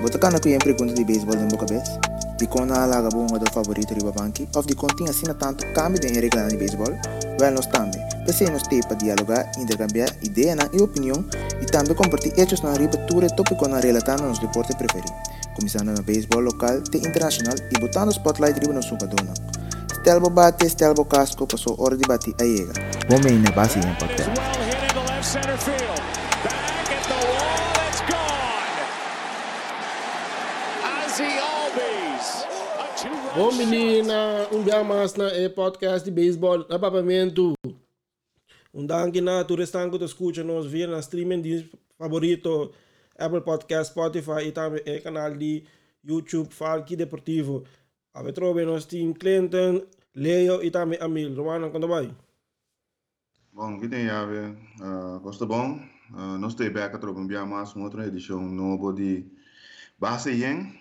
Bota kana ku sempre pergunta de beisebol em boca vez? De quando a laga bom do favorito riba banki, of de continha assina tanto cambio de regra de beisebol, well nós também. Pensei nos ter para dialogar, intercambiar ideia e opinião e também compartilhar hechos na riba ture tópico na relatando nos deportes preferidos. Começando no beisebol local e internacional e botando spotlight riba no sucadona. Stelbo bate, stelbo casco, passou hora de bater a iega. Vamos aí na base em podcast. Bom menina, dia mais na podcast de beisebol, apapamento. Danke na tu restango te escucha nos via na streaming de favorito Apple Podcast, Spotify e também o canal de YouTube Falki Deportivo. A trove nos team Clinton, Leo e também Amil. Romano, quando vai? Bom, que tem a ver? Gosto bom? Nós temos aqui a tropa um mais uma outra edição nova de Base Yen.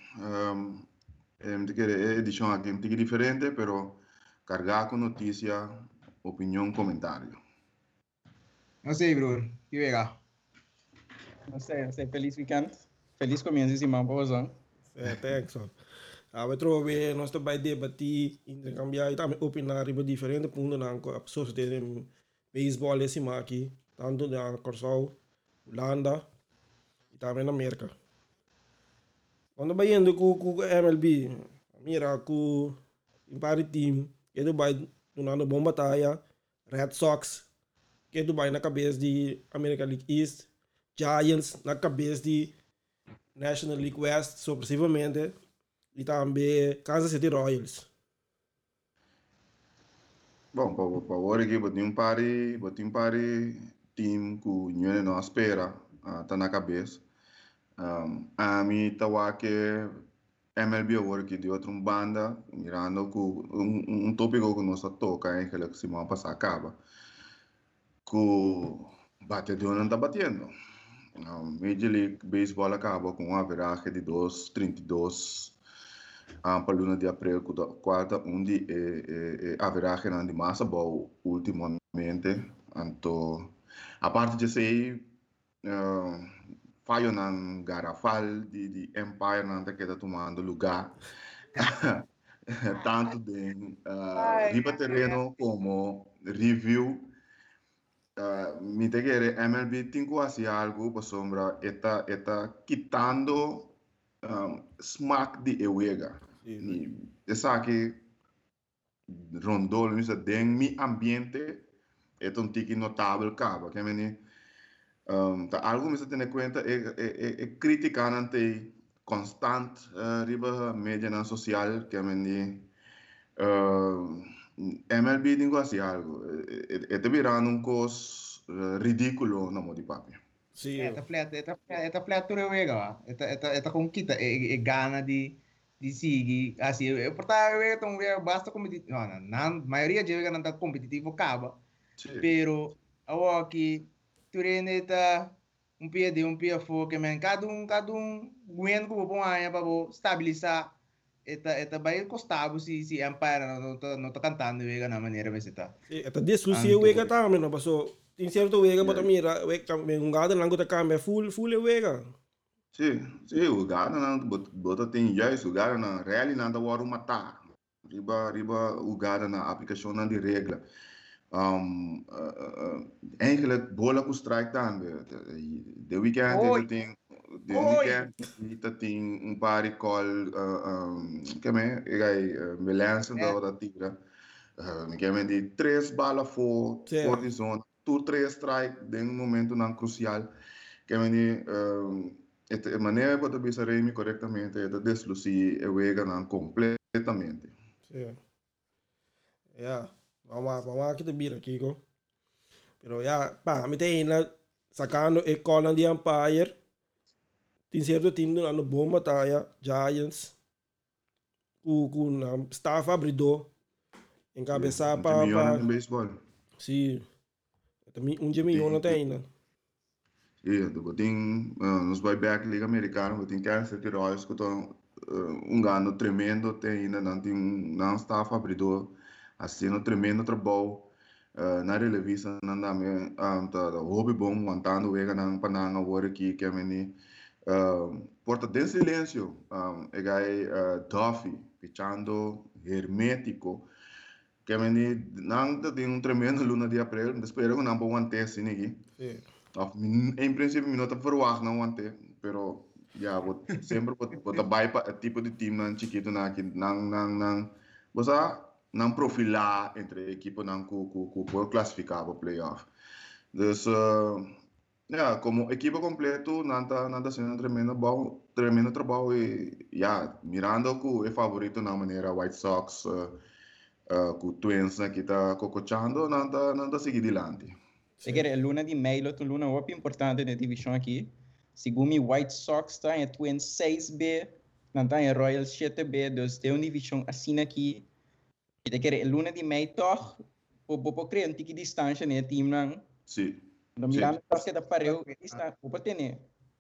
Edição aqui um pouco diferente, pero cargada com notícia, opinião, comentário. Não sei, Bruno. Que legal. Não sei. Feliz weekend. Feliz começo de semana para você. Thanks. A trove nós também debater, intercambiar e também opinar sobre diferentes pontos na pessoas que têm beisebol esse aqui, tanto na Corsol, Holanda e também na América. Quando vai indo com o MLB, mira com o pari team, que tu vai donando bom batalha, Red Sox, que tu vai na cabeça de American League East, Giants na cabeça de National League West, sucessivamente, e também Kansas City Royals. Bom, para agora aqui, botei um pari team que o União não espera, tá na cabeça. A mim estava que MLB agora que de outra banda, mirando com um tópico que nós toca, que semana passada acaba, que o batedor não está batendo. Major League Baseball acaba com uma averagem de 2,32 para luna de abril, quarta, onde a averagem de massa boa ultimamente. Então, a parte de ser falho na garrafal de Empire não está tomando lugar tanto de riba terreno como review. Me te quiere MLB tengo así algo por sombra está quitando smack de ewega. Esa que rondou en mi ambiente es un tiki notable cabo que me algo me se tiene cuenta es criticar ante constant riba media social que me MLB tengo así algo está virando un cos ridículo no mo di papi. Sì. Esta flat tu rewega. Esta com kita e gana de seguir assim, eu portava então basta competitivo. Não, na maioria de não tá competitivo acaba. Pero aqui tu reneta um pia foco, men cada um guendo com bom aí para estabilizar eta vai costava se Empire não tá cantando vega na maneira vai ser tá. Eta discussão vega também, não passou. Tem certo vega para mira, vega um gado lango tá câmbio full vega. Sim, o gado não bota tem já isso, o gado na real não dá hora matar. Riba o gado na aplicação de regra. Eigenlijk bola com strike também. De weekend tem um par de call que me lança da tira. Que me de 3 balas fora de zona, 2-3 strike de momento não crucial. Que me de maneira para pensar corretamente é desluzir o vega não completamente. Sim. Yeah. Vamos aqui te mira, Kiko. Pero ya, me tem na sacando e cola de Empire. Tem certo time no bom batalha, Giants. Com staff abridor. Encabeçar para em beisebol. Sim. Milhão não tem ainda. Sim, tem nos buyback liga americana, tem Kansas City Royals que estão ganho tremendo, tem ainda não staff abridor. Assim, um tremendo trabalho na revista, não dá me hobby bom, montando o ega na pananga agora aqui que é Porta de silêncio, Duffy, pichando hermético, que me não tem tremendo luna de abril, espero que não vou manter assim aqui. Em princípio, não está verwacht não manter, pero ja, sempre wat daarbij het type de team nan chiquito nang você não profilar entre equipe não que pode classificar para playoff. Dus ja, como equipe completo nada sendo tremendo trabalho e ja, mirando que é favorito na maneira White Sox com Twins que está cocochando nada seguir adiante. Perché l'una di May, l'una un po' più importante della divisione qui. Segundo White Sox está em Twins 6B, não está em Royals 7B, dus tem uma divisão assim aqui. E que l'una di May toch, po criar um tique distância né team não. Sim. Então mirando porque da pareu, está o ter.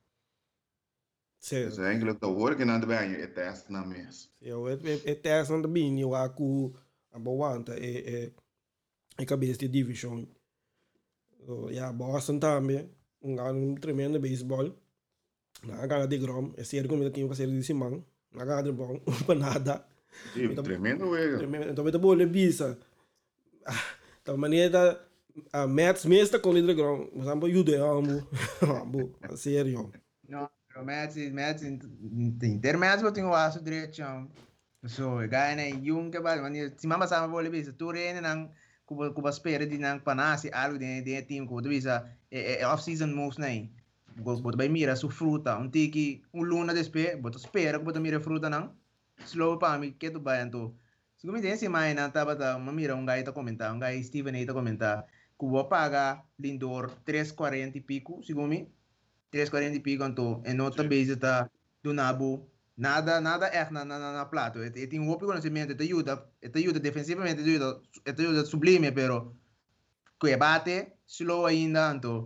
Dus eigenlijk te horen que nada bem é teste na mês. É teste na bem, eu acho que a boa é cabeça de divisão. Ja, Boston também, um tremendo beisebol. Na gana de Grom, é sério como ele tinha de Simão. Na gana de bom, para nada. Sim, tremendo velho. Então, eu vou bisa. Da maneira a Mets mesmo com ele de Grom, mas não pode ajudar ambo, sério. Não, o Mets intermédio eu tenho o aço direito. So, ganha né, yung que vai, mas se mama sabe vou bisa, tu rene nang kuba espera de nang panasi algo de team que bisa off season moves né. Bota vai mira su fruta, tiki luna despe, bota espera que bota mira fruta não. Slow para mim que tu vai então. Se como tem mais na tava mira guy tá comentar, guy Steven aí tá comentar, que paga Lindor 340 e pico, segundo 340 e pico então, e nota base tá do Nabo. Nada echt na plato. Tem um outro conhecimento, te ajuda defensivamente, te ajuda sublime, pero que bate slow ainda, então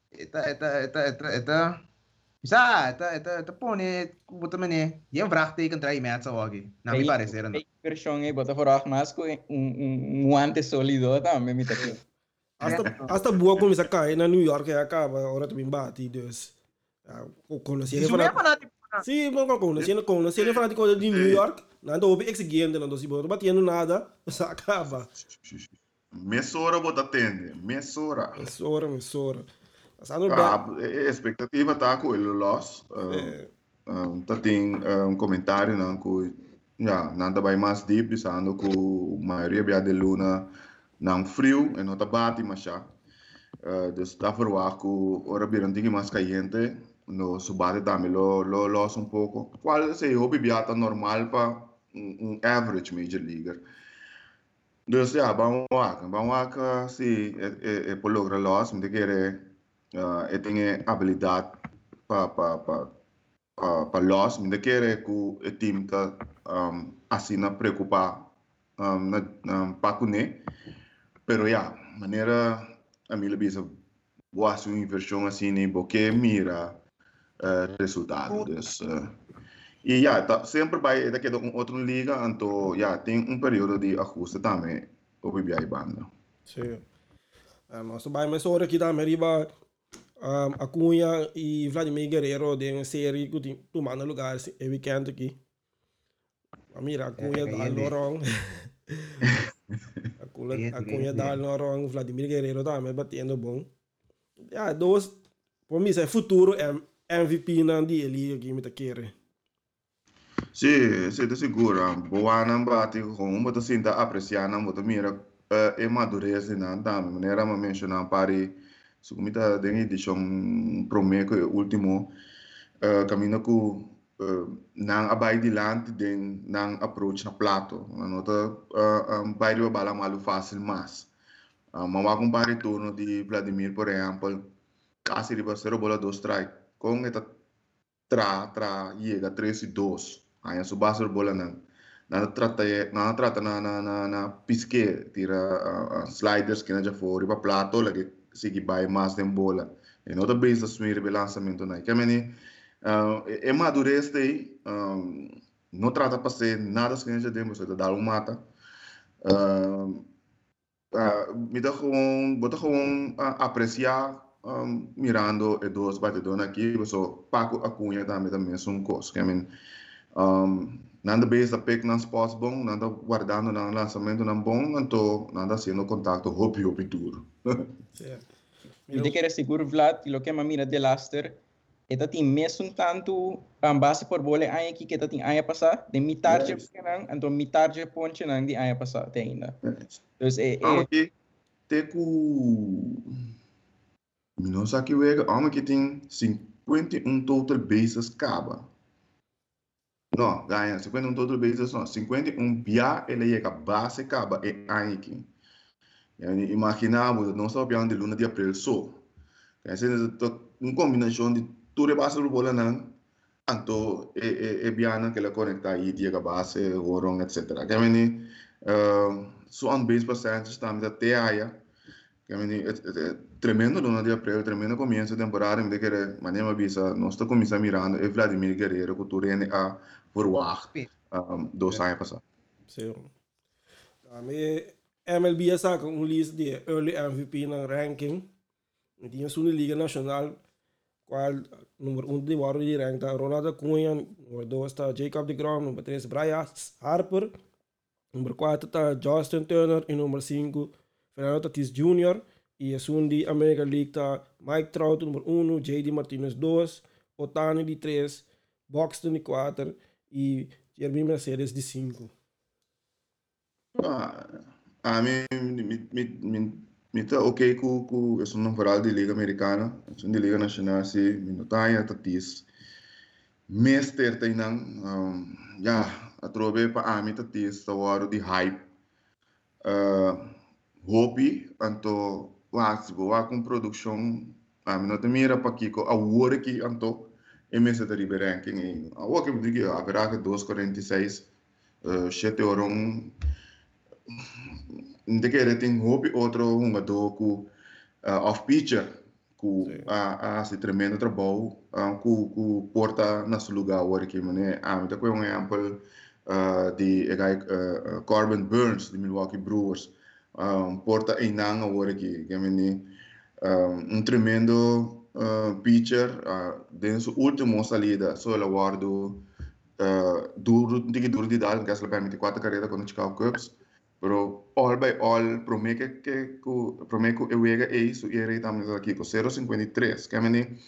pone também é vraagteken trai met zo aqui. Na me parecer não. Versão é bota fora mas com guante sólido também me tá aqui. Hasta boa começa a cair na New York acaba, agora também bate, dus. Conheci ele sim, conheci ele fanático de New York, não tô bem exigente, não tô se batendo nada, só acaba. Mesora bota tende, mesora. A expectativa tá com ele loss. Tá tem comentário não que já nada vai mais deep, pensando que a maioria de luna não frio e não tá bate mas já. Dus daarvoor waar que ora biran digi mais caliente no subate também lo los um pouco. Qual se hobby biata normal para average major leaguer. Dus ja, vamos lá, se por lograr los, me querer tem habilidade para los, me querer que o time tá assim na preocupar para cune, pero ja, maneira a mim bisa boa sua inversão assim nem porque mira resultado dus e já tá sempre vai daqui de outra liga então já tem período de ajuste também o BBI banda sim mas vai mais hora aqui também riba Acunha e Vladimir Guerrero de uma série que tu manda lugar é weekend aqui mira Acunha dá Lorong Acunha dá Lorong Vladimir Guerrero também batendo bom ja dois para mim é futuro MVP na dele aqui me tá querendo. Sim, de seguro. Boa não bate com uma sinta apreciar não bota mira é madurez não da maneira me mencionar pare se como tá dentro edição prometo último caminho com não abai dilante den não approach na plato na nota bairro bala malu fácil mas mas com pare turno de Vladimir por exemplo quase riba 0 bola 2 strike com esta chega 3-2 aí su base bola na trata na pisque tira sliders que já fora para plato lá que sigue vai mais de bola e nota base assumir o lançamento na que meni é madurez aí não trata para ser nada que já temos de dar mata me dá bota apreciar mirando e dois batedores aqui, so Paco Acunha também é um coisa. I mean, nada base da pick nas spots bom, nada guardando no lançamento não bom, então nada sendo contato hopi duro. Certo. Eu te quero seguro Vlad, lo que mira de Laster, eta tem mesmo tanto base por bola aí que eta tem aí passar, de mitarje nang, então mitarje ponche nang de aí passar te ainda. Então aqui te ku Minos aqui wega, aqui tem 51 total bases caba. Não, ganha 51 total bases não, 51 bia ele é a base caba é aí aqui. Imaginamos, não sabemos de luna de abril só. Essa é uma combinação de tudo base do bola não, então é bia que ela conecta aí de a base, horong, etc. Que meni, so on base percentage também até aí. Que meni, tremendo luna de abril, tremendo começo de temporada, me querer, mas nem me avisa, nós estamos começando mirando, é Vladimir Guerreiro, que tu rende a forward, 2 anos passados. Sim. MLB saca lista de early MVP na ranking. E tinha sua liga nacional, qual número 1 de Warrior de rank está Ronald Acunha, número 2 está Jacob deGrom, número 3 Brian Harper, número 4 está Justin Turner e número 5 Fernando Tatis Jr. E a de American League está Mike Trout, número 1, JD Martinez 2, Otani de 3, Buxton de 4 e Jeremy Mercedes de 5. A mim, me tá ok com esse número de liga americana, esse de liga nacional, se me notar Tatis, mestre tem não, já a trobe para a mim Tatis tá hora de hype, hobby, então se boa com produção, a mim não tem mira para que a hora que então MS da River ranking, a hora que eu digo a verdade 246, 7 horas não tem tem hobby outro jogador com off-pitcher com se tremendo trabalho com porta nesse lugar agora que mané então foi exemplo de Corbin Burns de Milwaukee Brewers porta em nang agora que mané tremendo pitcher desde sua última saída só ele guardou duro de dar que ele permite 4 carreiras com o Chicago Cubs. Pero all by all, promete que eu vega isso e ele também aqui com 0,53. Que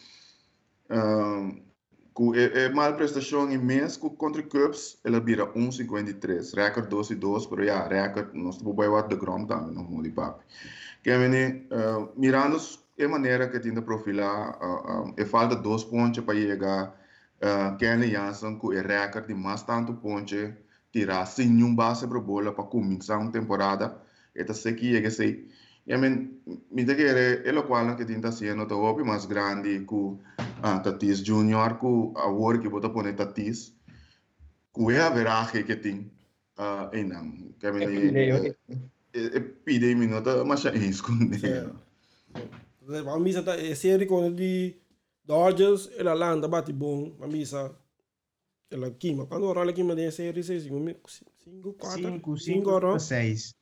com mal prestação em mês contra Cubs, ele vira 1,53. Record 2-2, pero já record nós estamos bem de Grom também, não muda de papo. Que mirando a maneira que tem de profilar, falta 2 pontos para chegar. Kenny Jansen com o record de mais tanto pontos tirar sem nenhum base para bola para começar uma temporada, esta sequia que sei. E me te quer é o qual que tenta ser no top mais grande com Tatis Junior com a hora que bota pôr Tatis, com a veragem que tem em não. Que pide minuto mas é isso com ele. Vamos misa tá série com de Dodgers e Atlanta bate bom, vamos misa ela quima, quando o Rola quima de série 5, 4, 5, 6.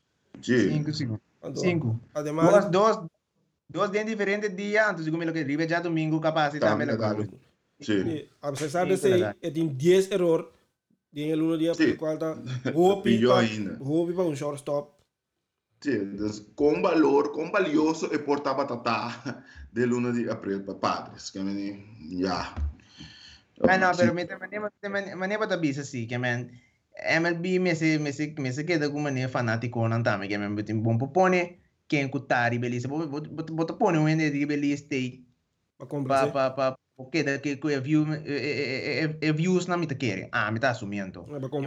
5. Además, dos días diferentes días antes de comer que ribe já domingo capaz de também legal. Sim. A pesar de ser, tem 10 erros em el 1 dia por qual está hobby para um shortstop. Sim, com valor, com valioso e porta batata de 1 de abril para padres, que já. No, pero manera para bisa sí, que MLB me se queda como manera fanático non tame, que betin bom propone que encutari beleza, bota pone um de beleza stay pa queda que views na mita quere. Me tá assumindo.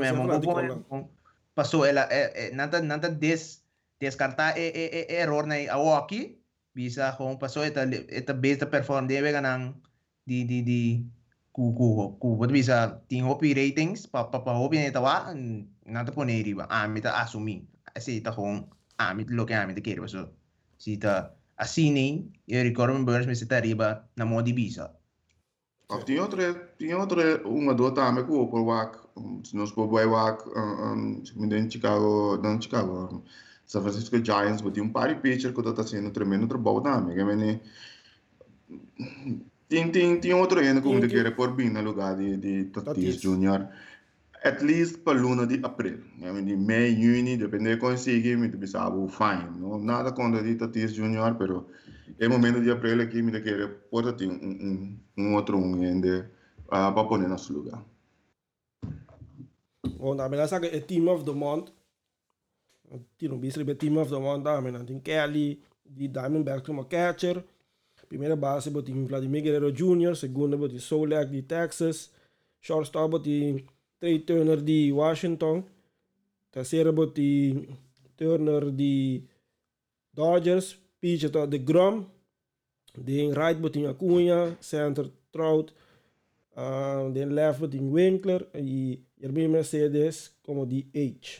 Passou ela nada descartar error na aqui, bisa com passou eta base perform de ganang di what bisa ting hopi ratings pa hopi na tawa nata po na riba mita asumi kasi ta kung mit lo que amit kere so si ta asini e Corbin Burns me ta riba na mo di bisa tinha outra uma do também com por wak nos por boy wak em Chicago San Francisco Giants botou par de pitcher que tá sendo tremendo trabalho também que Tem outro ainda como Tem de que- querer por bem no lugar de Tatis Tatis. Junior. At least para luna de abril. De mei, juni, depende de conseguir, me pensava, fine. Não, nada contra de Tatis Junior, pero é momento de abril aqui, me querer por ter outro ainda para pôr no nosso lugar. Want dan ben ik zeggen, het team of the month. Tino Beasley bij team of the month. Dan ben ik Kelly, die Diamondbacks como catcher. Primeira base botin Vladimir Guerrero Jr., segunda botin Solak de Texas, shortstop botin Trey Turner de Washington, terceira botin Turner de Dodgers, pitcher de Grom, de right botin Acuna, center Trout, de left botin Winkler e Yermin Mercedes como de H.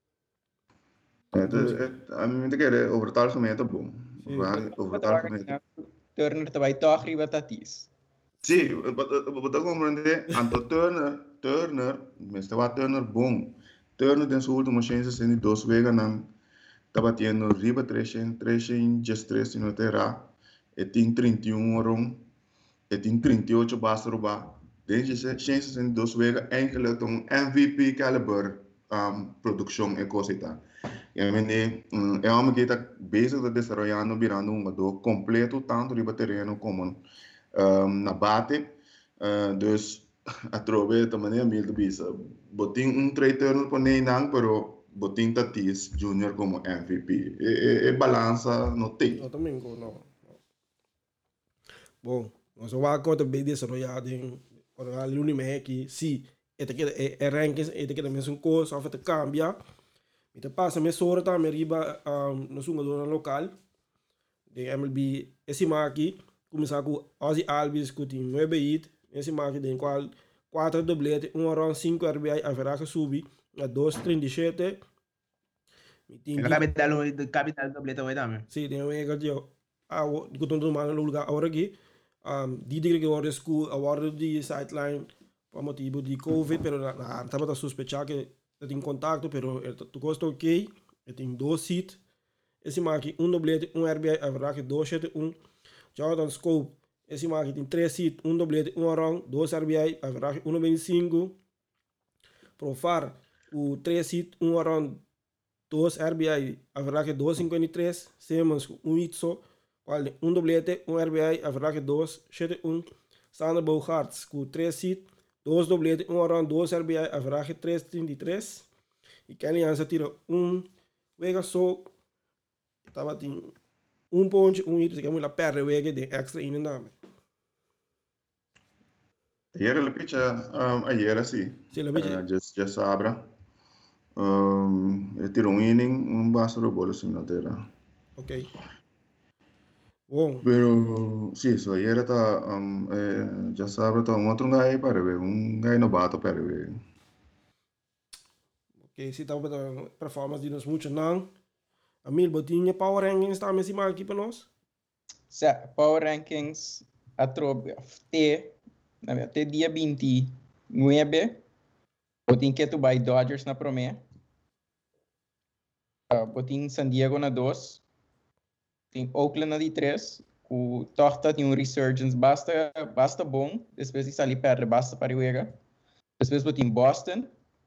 A mim me querer over het algemeen te bom. Sim. Over het algemeen. Turner também toch riba Tatis. Sim, você compreende? Anto Turner, mas estava Turner bom. Turner tem sua última chance sendo 2 vezes não está batendo riba 300, just 3 no terra. E tem 31 oron, e tem 38 basta roubar. Tem chance sendo 2 vezes eigenlijk um MVP caliber produção e coisa e tal. É uma que está bezig de desarrollando, virando um jogador completo, tanto riba terreno como na bate. Dus atrove também a mil de bisa. Botin Trey Turner por nem não, pero botin Tatis Junior como MVP. E balança não tem. No domingo, no. Bom, nós vamos contar bem desarrollado em a Lunimé aqui. Sim, é rankings, é que também são coisas, só que cambia. Então passa me sora também riba no jogador local de MLB. Esse aqui começar com Ozzy Albies que tem 9 hits. Esse aqui tem 4 doblete, 1 run, 5 RBI, a verá que subi a 2.37. El capital doblete hoy también. Sí, tem um ego de que estou tomando no lugar agora aqui. Die que agora school agora de sideline por motivo de COVID, pero estava a sospechar que tem contato, pero tu gosto ok. Tem 2 hits. Esse aqui, 1 doblete, 1 RBI, a verá que 2.71. Jordan Scope, esse aqui tem 3 hits, 1 doblete, 1 run, 2 RBI, a verá que 1.25. Profar, o 3 hits, 1 run, 2 RBI, a verá que 2.53. Simmons, 1 hit só, 1 doblete, 1 RBI, a verá que 2.71. Sander Bogaerts, com 3 hits, 2 doblete, 1 run, 2 RBI, a verá que 3.33. E Kenny Hansen tira 1 vega só, estava tem 1 ponto, 1 hit, que é muito perto vega de extra in nome. Ayer la picha, ayer así. Sí, la picha. Just abra. Tirou inning, basta de bola assim na terra. Ok. Bom. Pero, sí, so ayer está, já sabe, está outro guy para ver, guy novato para ver. Ok, se estava para performance de nós muito não. A mil botinha power rankings está mesmo aqui para nós. Power Rankings atrobe até dia 29. Botin que tu vai Dodgers na promé. Botin San Diego na 2. Tem Oakland na de 3. O Torta tem resurgence basta bom. Depois de sair perto, basta para o Ega. Depois botin Boston.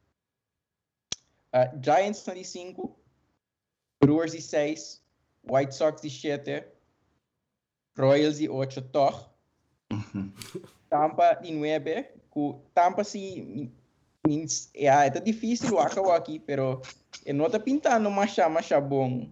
Giants na de 5. Brewers de 6. White Sox de 7. Royals de 8. Toch. Tampa de 9. Tampa se... é difícil o acabou aqui, pero não está pintando mais bom.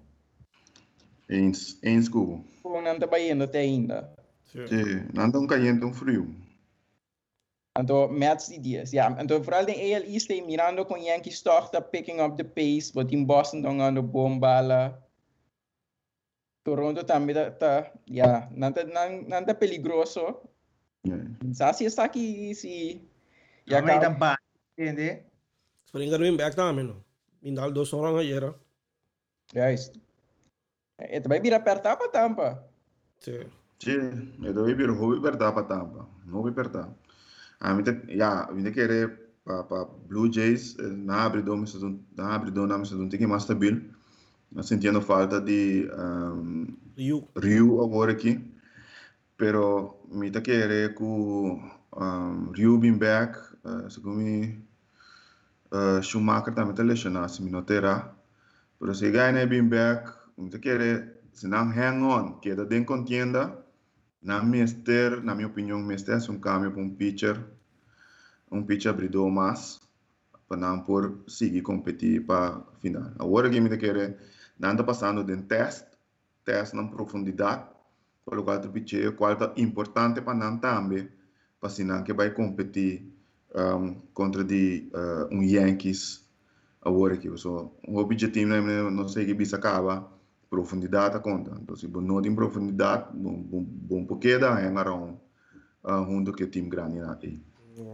Em school. Não está baiando até ainda. Sim, não está caindo frio. Então, Mets de 10. Então, vooral de AL East, mirando com Yankees toch, está picking up the pace, but in Boston estão ganhando bom bala. Toronto também está, não está peligroso. Assim está aqui, se... Ja, maar dan ba, entende? Springer win back também, não. Mindal 2 orang ayer. Juist. Het vai vir apertar para Tampa. Sim. Sim, eu vou vir apertar para Tampa. Não vou apertar. A mim querer para Blue Jays na abridão me se tem que mais stabil. Sentindo falta de Rio agora aqui. pero mi ta quiere ku Ryu bin back, segumi Schumacher también te lesionado, si mi no terá, pero si gana bin back, mi ta quiere se não hang on, queda den contienda, na mister, na minha opinião, mister é cambio para um pitcher abridor mais, para não por seguir competir para final. Agora que me ta quiere, não está passando de teste na profundidade, para o qual o pitcher, qual é importante para não também, para sinal que vai competir contra Yankees agora aqui. So, o objetivo não sei que bisa acaba, profundidade a conta. Então, se você não tem profundidade, bom porque dá é around junto que o time grande aí.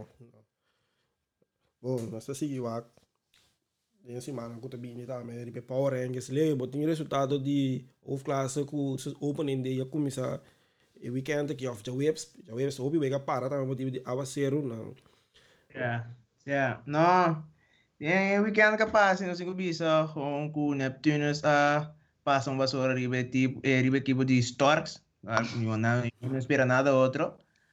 Bom, nós seguimos lá. Em semana que eu também também de Power Rangers le, botin resultado de hoofdklasse ku opening day começar e weekend que of the webs obi wega para também motivo de avacero não. No. Yeah, weekend kapag sinusingo bisa kung ku Neptunus pasang basura ribe equipo de Storks. Não espera nada outro.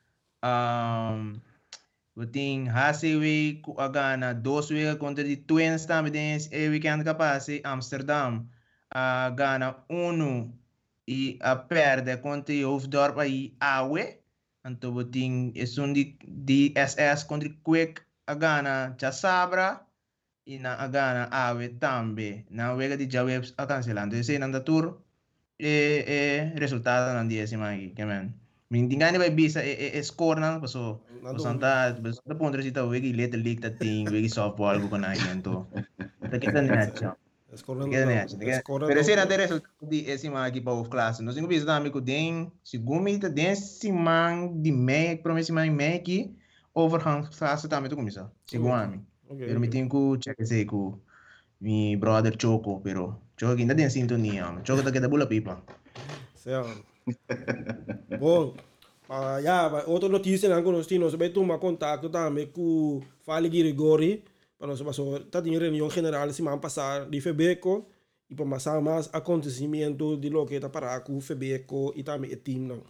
Botin Hasewe ku agana 2 weken contra de Twins também weekend kapag Amsterdam gana 1 e perde contra Hoofddorp aí Awe. Então botin de SS contra Quick agana Chasabra e na agana Awe também. Na wega de Jawebs a cancelando. Esse nanda tour resultado ng 10 semana aqui, man. Mintingani ba bisa score na so Santa punto sita wegi little league that thing wegi softball ko na yento. Kita niya. Pero se na resultado di semana aqui para o classe. Nós não bisa também com den segumi ta den semana de meia promessa semana meia aqui overgang classe também tu começa. Segundo pero me tenho que check esse com mi brother Choco, pero Choco ainda tem sintonia. Choco tá queda bula pipa. Certo. Bom, outra notícia não conheci, nós vai tomar contato também com Fali Grigori, para nós passar, tá em reunião general semana passada de Febeco e para passar mais acontecimento de lo que tá para com Febeco e também o time não.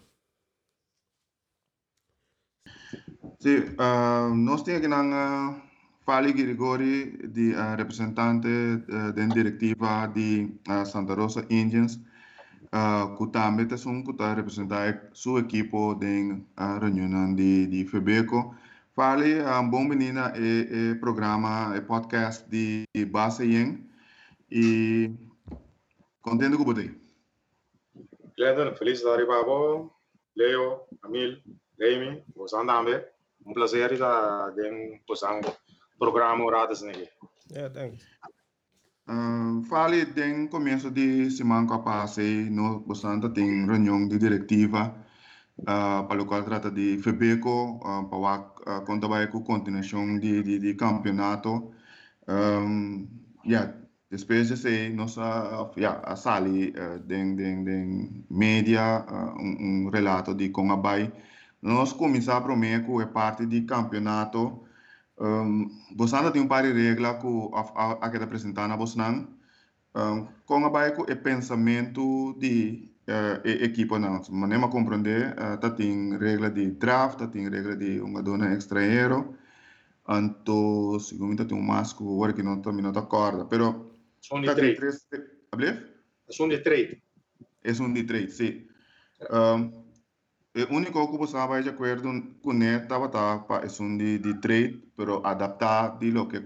Sim, nós temos aqui Fali Grigori, di representante da diretiva di Santa Rosa Indians, que também está representando seu equipo na reunião de Febeco. Fali, bom menina, programa, podcast de Base Yen e contente com você. Glendon, feliz de estar aqui, Leo, Amil, Leimi, você também. Prazer estar dentro programa Horadas Negi. Yeah, thanks. Fale den começo de semana que passei, nós bastante tem reunião de diretiva para o qual trata de Febeco, para contar com a continuação de campeonato. Depois de ser nós a sali den mídia relato de como a nós começar primeiro com a parte de campeonato. Você tem par de regras que a que apresentar na Bosnan. Com a baixo o pensamento de equipa não, mas nem compreender, tem regra de draft, tem regra de dona estrangeiro, então segundo tem masco, agora que não também não está corda, pero são de trade. São de trade. É de trade, sim. O único que você vai de acordo com ele estava para de trade, pero adaptar de lo que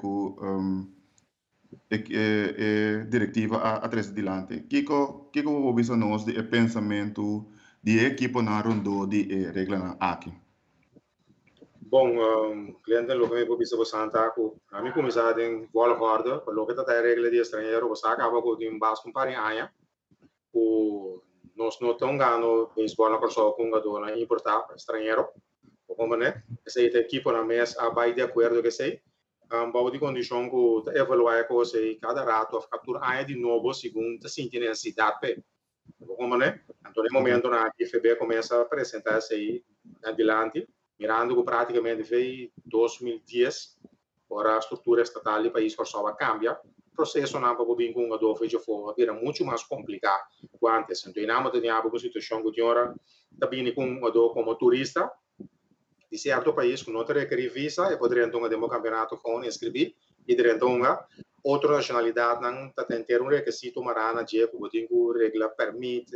diretiva a três adiante. Kiko você nós de pensamento de equipe na rondo de regra na aqui. Bom, cliente lo que me pode ser Santa com a mim começar em bola corda, pelo que tá regra de estrangeiro, você acaba com um base com pare aia. Nós não estamos ganhando beisebol na pessoa com a dona importar estrangeiro, como né? Essa equipe na mesa vai de acordo que sei, vai de condição que evaluar que você cada rato a captura aí de novo segundo a sentir necessidade, como né? Então no momento na FB começa a apresentar-se aí adiante, mirando que praticamente foi 2010, agora a estrutura estatal do país só vai cambiar, processo não para o bem com o jogador feito fora era muito mais complicado que antes. Então, nós tínhamos uma situação que tinha também com um jogador como turista de certo país que não requer visa e poderia então ter um campeonato com inscrever e então outra nacionalidade não tem ter requisito marana de que tem regra permite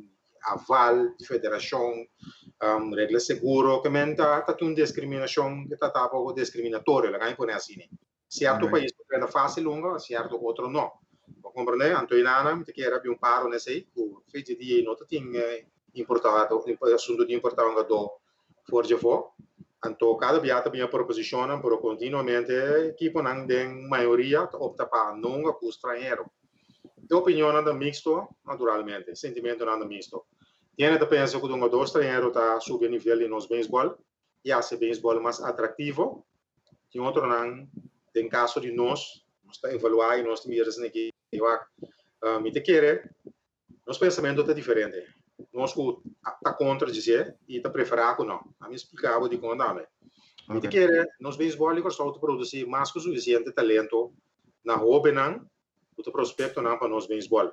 aval de federação regra seguro que menta uma discriminação que está pouco discriminatória lá em assim certo país é fácil longa certo outro não compreende Antoinana que era um paro nesse aí o feito de não tem importado assunto de importar um gado for de for então cada viata bem proposicionam pero continuamente equipo não tem maioria opta para não com estrangeiro a opinião anda mixto naturalmente sentimento anda mixto tiene que pensar que um gado estrangeiro está subindo nível de nos beisebol e hace beisebol mais atrativo tem outro não tem caso de nós está evaluar e nós miras aqui me te querer nosso pensamento está diferente nós está contra dizer e está preferar que não a me explicava de como andar me te querer nós beisebol que só produzir mais que suficiente talento na hobby não o prospecto não para nós beisebol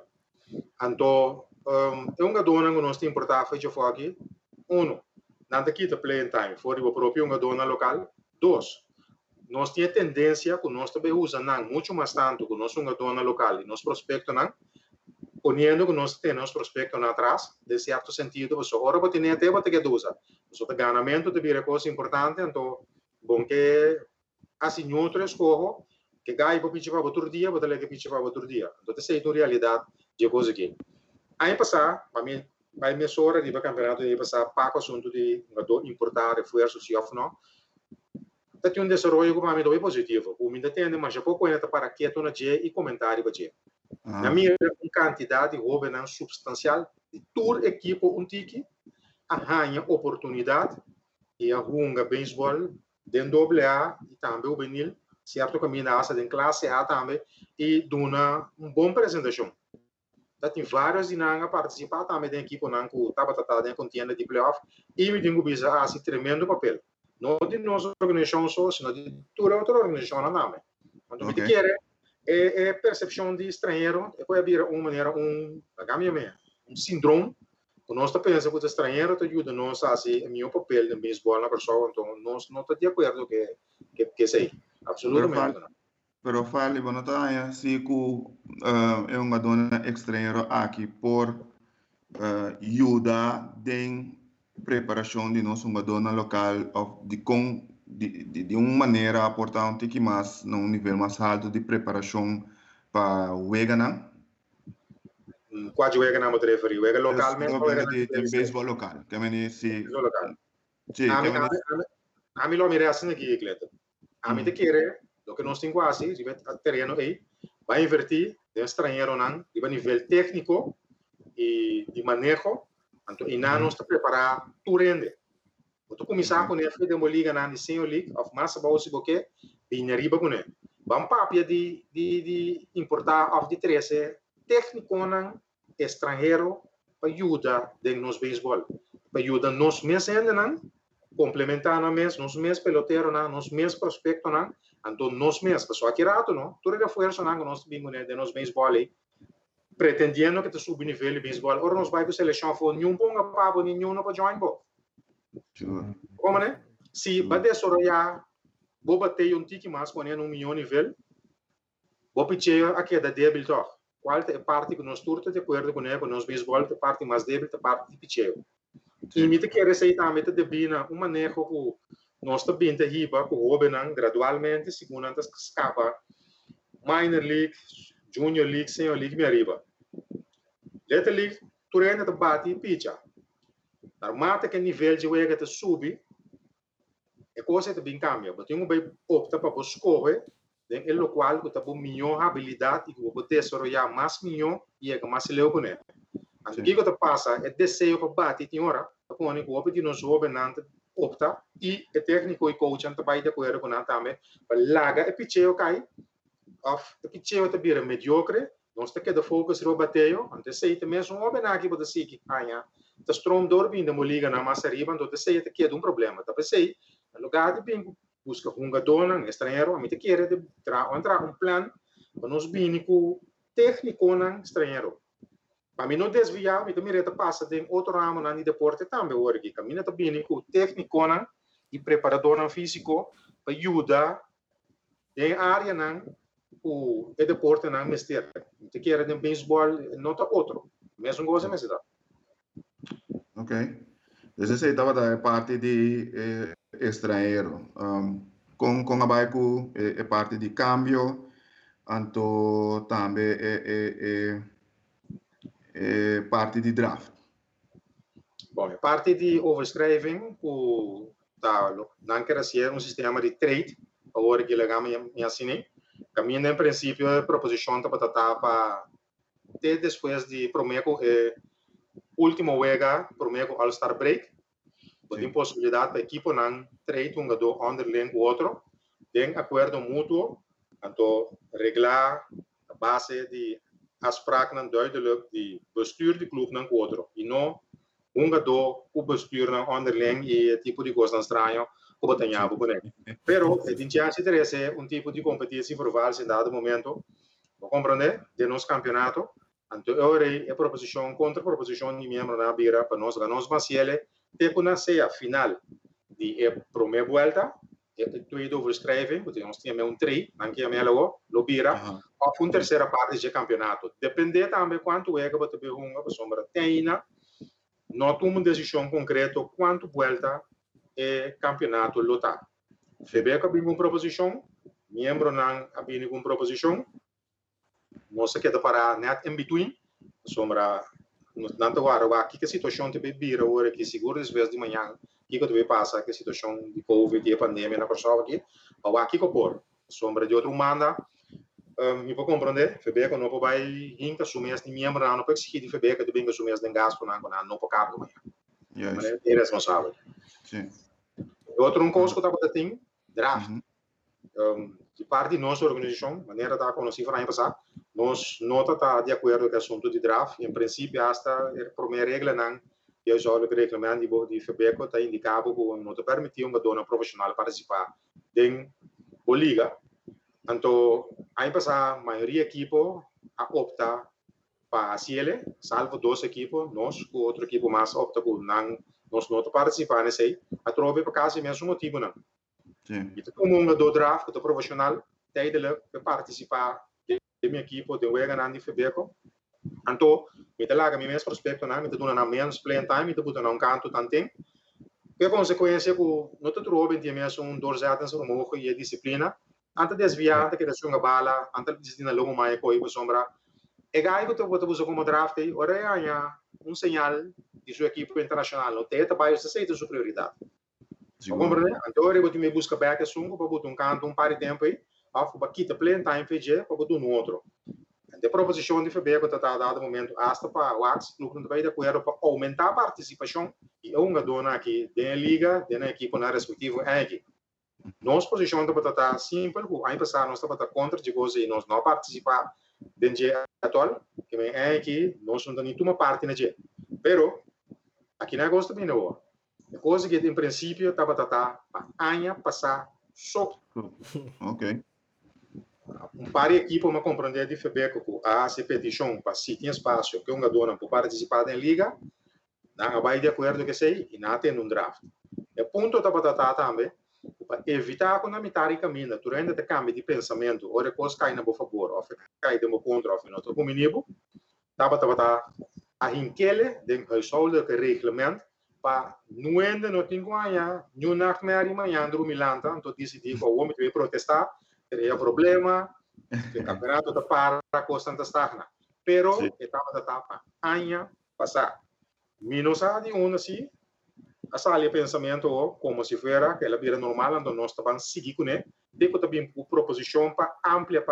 então é um gadona que nós tem importar feito fora aqui não aqui está playing time fora o próprio gadona local dois nós temos tendência que nós também usamos muito mais tanto que nós somos dona local e nós prospecto não ponendo que nós temos prospecto na atrás de certo sentido você ora você tem até você que usa você tem ganamento de vir coisa importante então bom que assim outro escorro que gai para pitcher para outro dia você leva pitcher para outro dia então essa é a realidade de coisa aqui aí passar para mim vai me sora de campeonato de passar para o assunto de importar reforços se off não tem um desenvolvimento que para mim é positivo. O mundo tem mas já pouco ainda para quieto na dia e comentário para dia. Na minha quantidade de hobby não substancial de toda equipe tiki arranha oportunidade e arrunga beisebol dentro do AA e também o benil certo caminho da asa de classe A também e dona boa apresentação. Tem vários dinanga participar também da equipe não que estava tratando em contenda de playoff e me tenho bisa assim tremendo papel. Não de nossa organização só, sino de toda outra organização na nome. Quando me quer é percepção de estrangeiro, pode haver uma maneira síndrome. O nosso pensa que o estrangeiro te ajuda nós a fazer o meu papel de beisebol na pessoa, então nós não estamos de acordo que sei, absolutamente não. Pero fale, bueno, tá, se que é uma dona estrangeiro aqui por ajuda de preparação de nosso dona local de uma maneira importante que mais num nível mais alto de preparação para o Wegana. Qual Wegana me referi? Wega localmente ou Wega de beisebol local? Que me se local. Sim, a mim lo mira assim aqui, Cleto. A mim te quer, do que nós temos quase, se vai terreno aí, vai invertir de estrangeiro não, de nível técnico e de manejo. Então, e não está preparado tu rende. Tu começar com ele de uma liga na Senior League, of massa bolsa porque bem arriba com ele. Vamos papia de importar of de 13 técnico não estrangeiro para ajudar de nos beisebol, para ajudar nos mês ainda não complementar nos mês pelotero não, nos mês prospecto não, então nos mês pessoa aqui rato não, tu reforço não nós bem de nos beisebol aí pretendendo que te suba o nível de beisebol, ou nós vai para a seleção for nenhum bom papo, nenhum não para join ball. Como né? Se bater só já, vou bater tiki mais com ele milhão nível, vou pedir aqui da débil toch. Qual é a parte que nós turta de acordo com ele, com nós beisebol, a parte mais débil, a parte de pedir. E me te quer sair também de bina uma manejo que nós também te riba, que o hobby gradualmente, segundo antes que escapa, minor league, junior league, senior league, me arriba. Little league, tu ainda te bate e picha. Normalmente que nível de wega te sube, é coisa que bem cambia. Mas tem bem opta para escolher, em lo qual que te bom melhor habilidade e que você desarrollar mais melhor e é mais leu com ele. Então o que te passa é desejo para bate tem hora, para pôr que o de nós governante opta e o técnico e coach ante vai de acordo com ele também para larga e picheo cai. Of o picheo te vira mediocre. Nós temos que focar no bateio, antes sei também são homens aqui para dizer que amanhã o strom dorme ainda liga na massa arriba, então sei que é um problema. Então sei, no lugar de bem busca um gadona, estrangeiro, a mim te quer entrar um plano para nós bem com técnico não estrangeiro. Para mim não desviar, me também reta passa tem outro ramo na deporte também agora que caminha também com técnico não e preparador não físico para ajudar em área não o deporte não mestre. Te quer de beisebol não tá outro. Mesmo coisa mesmo dá. Ok. Então você estava da parte de estrangeiro. Com a baico é parte de câmbio, então também é parte de draft. Bom, a parte de overschrijving, não quer ser sistema de trade, agora que legal me assinei. Caminho em princípio a proposição para até depois de prometo último wega prometo All-Star Break. Tem possibilidade para a equipe não trade um jogador underling o outro, tem acordo mútuo, então reglar a base de afspraak não duidelijk de bestuur de club não com o outro, e não jogador o bestuur não underling e tipo de coisa estranho como tem a boneco. Pero tem chance de ser tipo de competição provar em dado momento, vou compreender de nosso campeonato. Então agora é proposição contra proposição de membro na bira para nós ganhamos Marciele tipo na ceia final de primeira volta tweede overschrijving, porque nós tínhamos 3, não que é logo, Lobira, ou terceira parte de campeonato. Depende também quanto é que você vai jogar, para sombra teina, não toma uma decisão concreta quanto volta é campeonato lotar. Febeca bem com proposição, membro não bem com proposição, nós queda para net in between, sombra não te guarda aqui que a situação te bebira agora que seguro às vezes de manhã que deve passar que a situação de covid e a pandemia na pessoa aqui ou aqui que por sombra de outro manda me pode compreender febeca não pode vai hinca assumir este membro não pode exigir de febeca de bem assumir este gasto não pode cabo manhã mas é responsável sim outro coisa que eu tava tem draft de parte de nossa organização, maneira da conhecer para passar, nós não está de acordo com o assunto de draft. Em princípio, esta é a primeira regra não, que já o regulamento de FEBECO está indicado que não te permite um jogador profissional participar da liga. Então, aí passar a maioria equipo a optar para a CL, salvo 2 equipos, nós com outro equipo mais opta por não nós não participar nesse aí, a trove para casa mesmo motivo não. sim E como um do draft do profissional tem de participar da minha equipe de wega na FEBECO então me dá lá mesmo prospecto na me dá na menos playing time me dá na canto tanto que consequência que não te trobe de mesmo dorzado no moco e a disciplina antes de desviar que da sua bala antes de desviar logo mais coi por sombra e gai que tu usa como draft aí ora é sinal de sua equipe internacional não tem trabalho se aceita sua prioridade. Compreende? Então, eu me busca back sungo para botar canto par de tempo aí, para quitar play time PG para botar no outro. A proposição de FEBECO está dado momento hasta para o AX, o clube vai de acordo para aumentar a participação e uma dona aqui da liga, da equipe na respectiva equipe. Nossa posição está simples, aí passar nós estamos contra de coisa e nós não participar do dia atual, que é aqui nós não temos uma parte na dia. Pero aqui não gosto bem não. A coisa que, em princípio, estava para anos passar só. ok Para a equipe, uma compreender de FEBECO que a petição para se tem espaço que uma dona para participar da liga, não vai de acordo com sei e não tem draft. O ponto estava também para evitar que na metade caminho, durante o cambio de pensamento, ou a coisa cai na boa favor, ou cai de uma contra, ou não estou comigo, estava a inquele de resolver o regulamento para não ainda não tem ganhar nenhum nachtmerrie de manhã do Milanta então decidi que o homem vai protestar teria problema o campeonato da para constante stagna pero estava da tapa año passar menos a de assim a sala de pensamento como se fosse aquela vida normal então nós estamos seguir com ele depois também proposição para amplia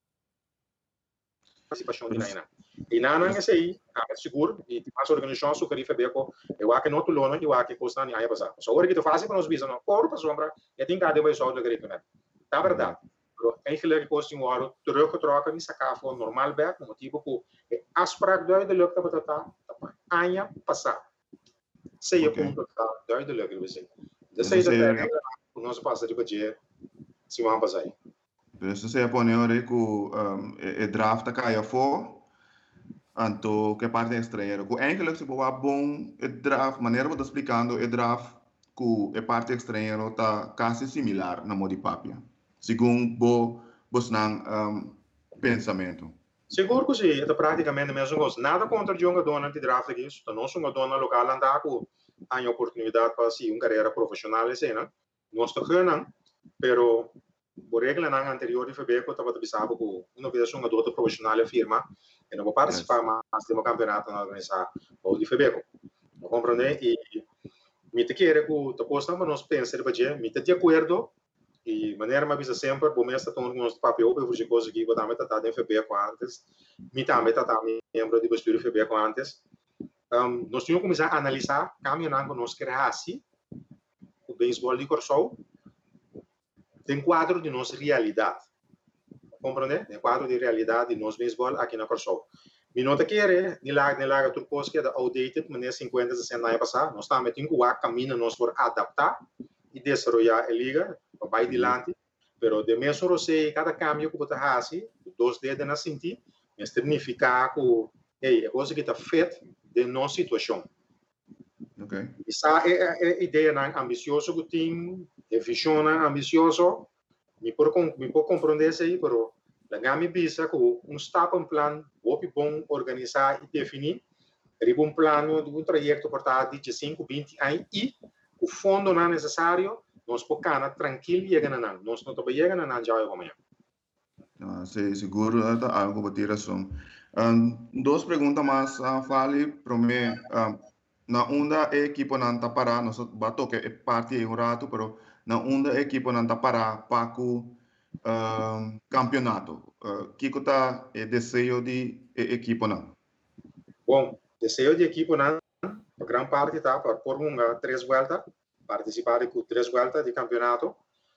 participação de Naina. E não é isso aí, seguro, e a organização só queria saber que eu acho que não tulona, eu acho que custa nem aí passar. Só agora que tu faz para nós visar, não, corpo sombra, e tem cada vez só do agrícola. Tá verdade. Eigenlijk custa um hora, troca, me sacar for normal back, no motivo que as práticas do lugar que tá año passar. Sei o ponto tá do lugar que você. Desse aí da nós passa de dia, se vamos passar aí. Dus você pone ora que draft caia for, anto que parte estrangeiro. Que eigenlijk se boa bom draft, maneira que eu tô explicando, draft que parte estrangeiro tá quase similar na modi papia. Segundo bo snang pensamento. Seguro que sim, é praticamente a mesma coisa. Nada contra o jogador de draft aqui, se não sou jogador local andar com a oportunidade para seguir uma carreira profissional assim, né? Não estou ganhando, pero por regra na anterior de fevereiro eu estava pensando que uma vez um jogador profissional da firma e não vou participar mais de um campeonato na organização ou de fevereiro. Não compreende? E me te quer que tu possa mas pensar para me te de acordo e maneira mais bisa sempre bom mesmo está tomando uns papel para fazer coisas que vou estar em fevereiro antes me também está membro de bastura de fevereiro antes nós tínhamos começar a analisar caminhando com nós criasse o beisebol de Corsol tem quadro de nossa realidade compreende? Tem quadro de realidade de nosso beisebol aqui na Corsol me nota que é de lá tudo coisa que é outdated maneira 50 60 anos passar nós estamos tendo que caminho nós for adaptar e desenvolver a liga vai adiante, pero de mesmo você cada cambio que você faz, dois dedos na sentir, significa que é coisa que está feita de nossa situação. Okay. Essa é a ideia ambiciosa que tem, a visão ambiciosa, me pode compreender isso aí, pero a gama visa que stap um plano, bom organizar e definir, um plano de trajeto portado de 5, 20 anos e o fundo não é necessário nós podemos tranquilo chegar na nós não estamos chegando na já amanhã. Sim, seguro é algo para ter razão. Duas perguntas mais fale para mim. Na onda a equipe não está parada, nós bato que é parte de rato, pero na onda a equipe não está parada para o campeonato. Que está o desejo de equipe não? Bom, desejo de equipe não, a grande parte está para por uma 3 voltas, participar com 3 voltas de campeonato.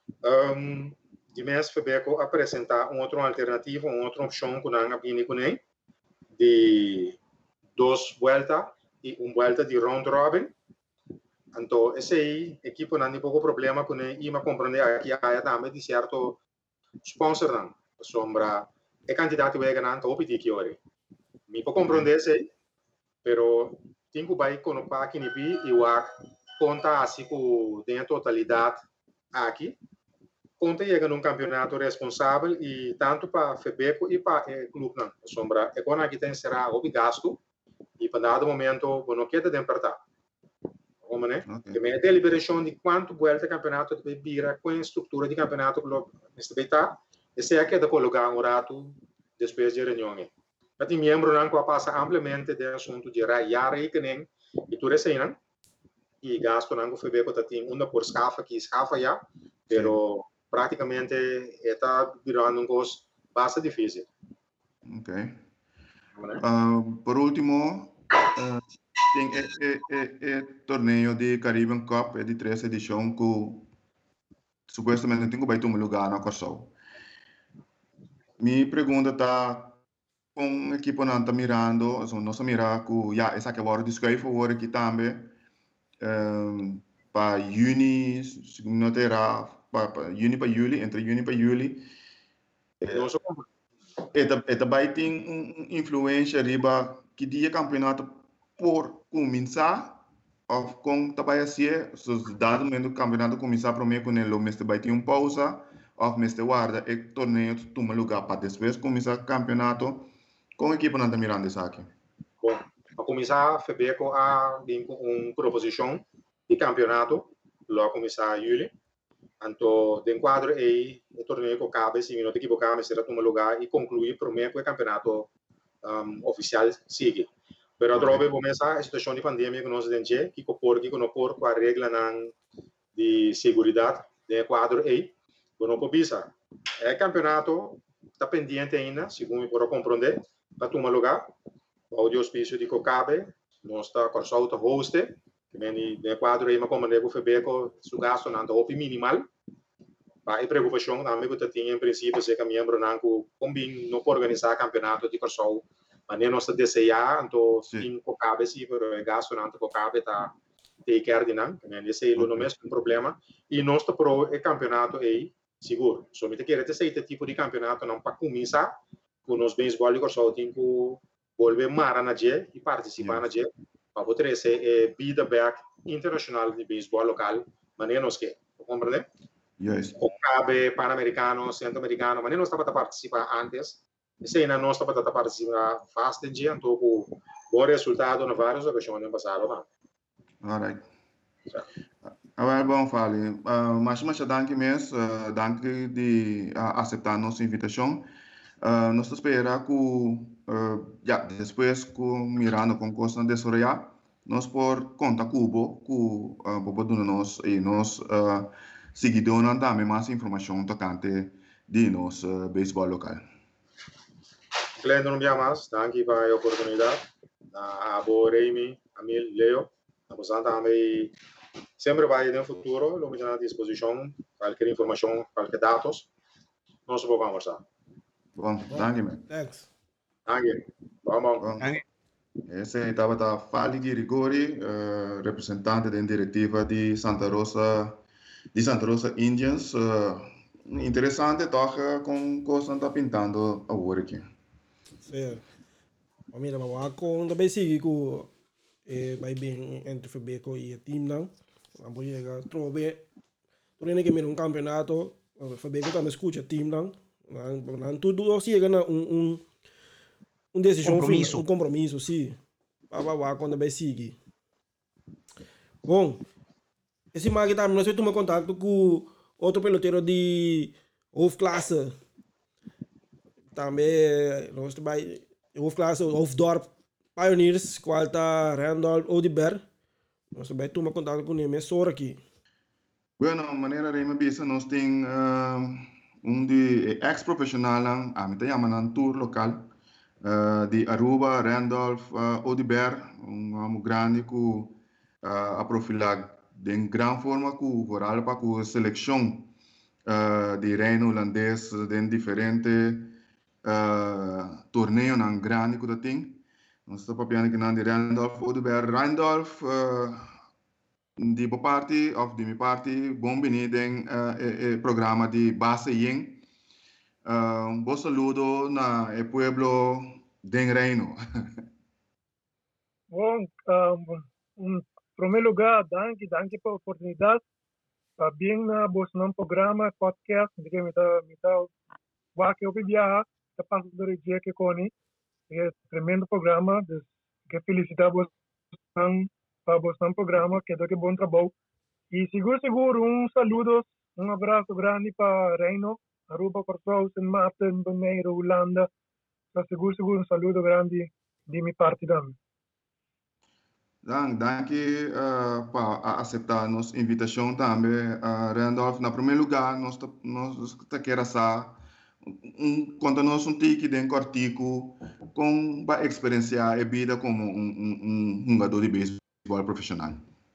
De mês fevereiro apresentar outra alternativa, outra opção que não abine com ele, de 2 voltas e 1 volta de round robin. Então, esse aí, a equipe não tem pouco problema com ele, e me compreender aqui a também de certo sponsor não, sombra, é candidato a ganhar, então, opiti que ore. Me pode compreender isso aí, pero tenho que vai com o pack e o conta assim com dentro totalidade aqui conta chega num campeonato responsável e tanto para FEBECO e para o clube não sombra é quando aqui tem será o gasto e para dado momento não quer de apertar como né que me deliberação de quanto volta campeonato de vira com a estrutura de campeonato neste beta esse é que é de colocar um rato depois de reunião mas tem membro não que passa amplamente de assunto de raiar rekening e tudo isso aí não e gasto não que foi bem que tem uma por escafa já, pero praticamente está virando um coisa bastante difícil. Ok. Por último, tem o torneio de Caribbean Cup, de 3 edição que supostamente tem que vai tomar lugar na Corsol. Minha pergunta está com a equipe não está mirando, não está mirando que já essa que agora descreve agora aqui também para juni, não terá para juni para julho, entre juni para julho. Também tem influência riba que dia campeonato por começar ou com também assim, os dados do campeonato começar para mim com ele, mas também tem pausa ou mas guarda e torneio toma lugar para depois começar o campeonato com a equipe não está mirando isso aqui. Bom, para começar fevereiro a vir com uma proposição de campeonato, logo começar em julho. Então, de enquadro aí, o torneio que cabe, se não te equivocar, será tomar lugar e concluir primeiro que o campeonato oficial sigue. Pero trove começar a situação de pandemia que nós temos, que não por com a regra de segurança de enquadro aí, que não precisa. É campeonato está pendente ainda, segundo eu posso compreender, para tomar lugar. O auspício de Cocabe, nós está com o host, que vem de quadro aí, mas como nego febeco, o gasto não está minimal. A preocupação também que eu tinha em princípio, se que membro não combina não pode organizar campeonato de Corsol, mas nem nós desejar, então tem Cocabe sim, mas o gasto não está Cocabe está take care de não, esse é o mesmo problema. E nós está pro campeonato aí Seguro. So, me te quer esse tipo de campeonato não para começar, com os beisebol que só tem que volver mara na G e participar na G, para poder ser vida back internacional de beisebol local, mas não nos que, compreende? Yes. O cabe pan-americano, centro-americano, mas não estava a participar antes, e se não estava a participar fast em G, então bom resultado na várias ocasiões no passado, não? All right. Agora, bom, Fali. Mas danke mesmo, danke de aceitar nossa invitação. Nós esperamos que, depois que mirar no concurso na desarrollar, nós por conta Cubo, que Bobo nós e nós seguidores também mais informação tocante de nosso beisebol local. Glenda não me mais, danke pela oportunidade. A Reimi, Amil, Leo, a você também sempre vai no futuro, lo mettiamo a disposição, qualquer informação, qualquer dados, nós vamos conversar. Bom, danke, man. Thanks. Danke. Vamos. Esse estava a Fali Girigori, representante da diretiva de Santa Rosa Indians. Interessante, toca com coisa que está pintando agora aqui. Sim. Mira, mas com também sigue com vai bem entre Febeco e o time não. Vamos chegar, trove. Tu nem que mira campeonato, Febeco também escuta o time não. Tudo chega na decisão compromisso. Um compromisso, sim. Para quando vai seguir. Bom, esse mag também nós temos contato com outro peloteiro de hoofdklasse. Também nós trabalhamos hoofdklasse, Hoofddorp Pioneers, qual está Randolph Odiber. Nós também temos contato com ele, só aqui. Bueno, maneira Reima Bisa, nós temos de ex-profissional, a mim chama tour local, de Aruba, Randolph, Odiber, grande que a profilar de grande forma que vooral para a seleção de reino holandês de diferentes torneios na grande que tem. Nós estamos falando que de Randolph, Odiber, Randolph, de minha parte, bom venir em programa de base Yen. Bom saludo na pueblo de Reino. Bom, em primeiro lugar, danke pela oportunidade. Bem na um programa, podcast, que me dá que eu viajar, da parte do dia que coni, é tremendo programa, que felicitamos para o programa, que é bom trabalho. E seguro, saludo, abraço grande para Reino, Aruba, Corsau, St. Martin, Bonaire, Holanda. Seguro, saludo grande de minha parte também. Danke para aceitar nossa invitação também, Randolph. Na primeiro lugar, nós queremos saber quanto nós tique de cortico com a experiência a vida como jogador de beisebol profissional.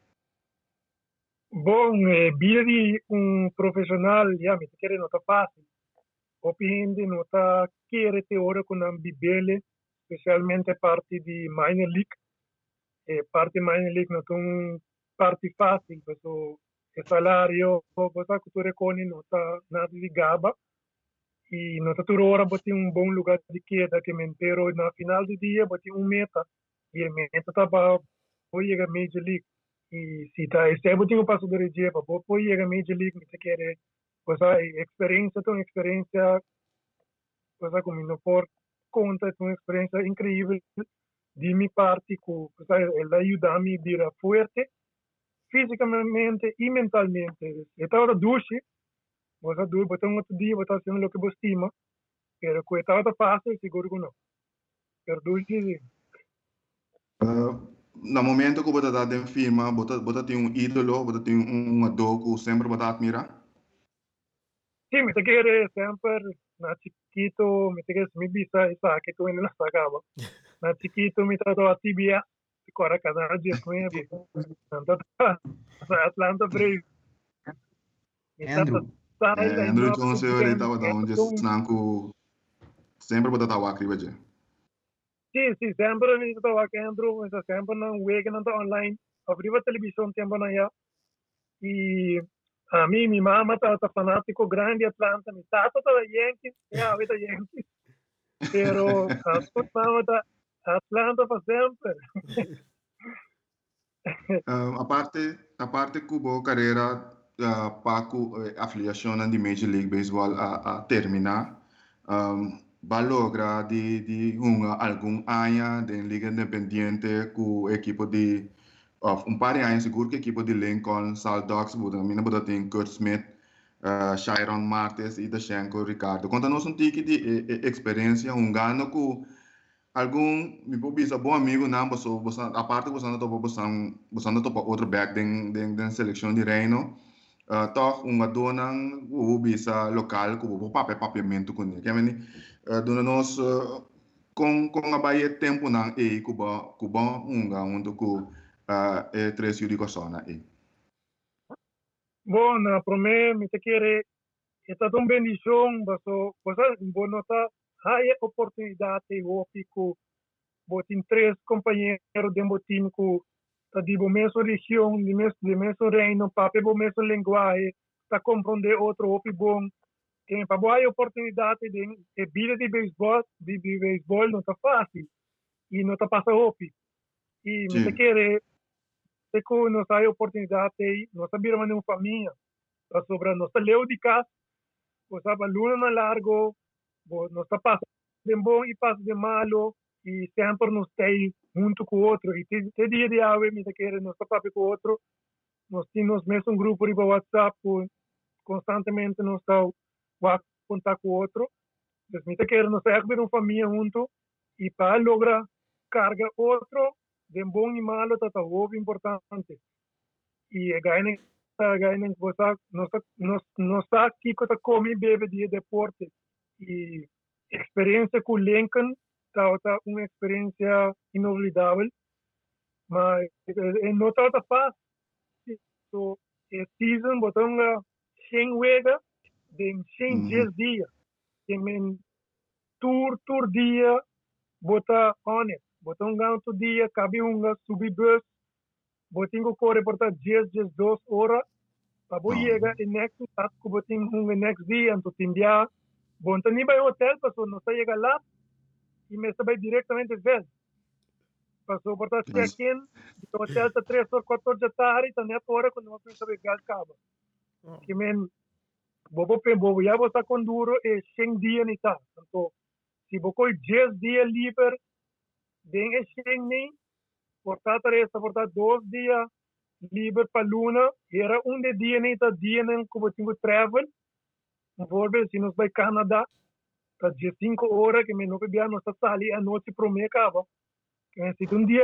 Bom, vida de profissional, me quer não está fácil. Opinde não está querer ter hora com a bibele, especialmente parte de minor league. Parte minor league não tem parte fácil, porque o salário, você que tu reconhece não está nada de gaba. E não está toda hora botar bom lugar de queda, que me entero na final do dia, botar meta. E a meta está para chegar a Major League. E se está botar passo do dia para chegar a Major League, você quer experiência, você como não por conta, uma experiência incrível de minha parte, que ela ajuda-me a ir forte, fisicamente e mentalmente. Estava duche. Você botar outro dia, você está fazendo o que você estima, mas que está fácil, seguro que não. Mas dois dias. No momento que você está em firma, você tem ídolo, você tem ador que sempre você admira? Sim, me quer sempre, na chiquito, me quer me bisa, que tu ainda não sacava. Na chiquito, me tratou a TBS, agora cada dia com Atlanta Braves. Andrew Jones ahorita onde snanku sempre bota tawa kribaje. Sim, sempre me tawa Andrew, sempre não wega não online, abriu a televisão tempo na ya. E A mí, mi mamá está fanático grande de Atlanta, mi tata está de Yankees, ya ahorita Yankees, pero a su mamá está Atlanta para siempre. A parte Cubo carreira Paco afiliação de Major League Baseball a terminar, vai lograr de algum ano de liga independente com o equipo de of par de anos seguro que o equipo de Lincoln, Sal Dogs, mina boda tem Kurt Smith, Chiron Martes e Dashenko Ricardo. Conta-nos tique de experiência gano com algum me bisa bom amigo não você a parte você não topa outro back den seleção de reino toch dona o bisa local com o papiamento com ele que é dona nós com a baia tempo não e cuba onde com é três yuri persona e Bom, para mim, me te quiere, esta é uma bendição, você nota há oportunidade de opico, botin três companheiros de botin com tá de mesma região, de mesmo reino, papo bo mesmo linguagem, tá compreender outro opi bom, que para boa oportunidade de vida de beisebol não tá fácil e não tá passa opi e me te quiere se que nós há oportunidade, nós sabemos uma família, tá sobre nós leu de casa, nós sabe luna na largo, nós tá passa de bom e passa de malo e sempre nós tem junto com o outro e te dia de ave me querer nós tá papo com o outro, nós temos mesmo grupo de WhatsApp constantemente nós tá contato com o outro, então me querer nós é uma família junto e para lograr carga outro de bom e malo tá muito importante e ganha você nós tá aqui que tá come bebe de deporte e experiência com Lincoln tá uma experiência inolvidável mas não tá fácil so season botão 100 wega de 100 dias que men tour dia bota honest botão ganho dia cabe subir bus botinho corre por 10 2 horas para chegar e next task botinho next dia então tinha bom nem vai hotel passou não sai chegar lá e me vai diretamente ver passou por check-in do hotel tá 3 ou 4 horas da tarde tá net hora quando eu penso que acaba que men bobo já você com duro e 100 dias nem tá então se você 10 dias livre bem é 100 nem portar 3 portar 2 dias livre para luna era dia nem tá dia nem como tinha travel volve se nos vai Canadá tá 5 horas que me não bebia nós tá ali a noite pro me acaba que se dia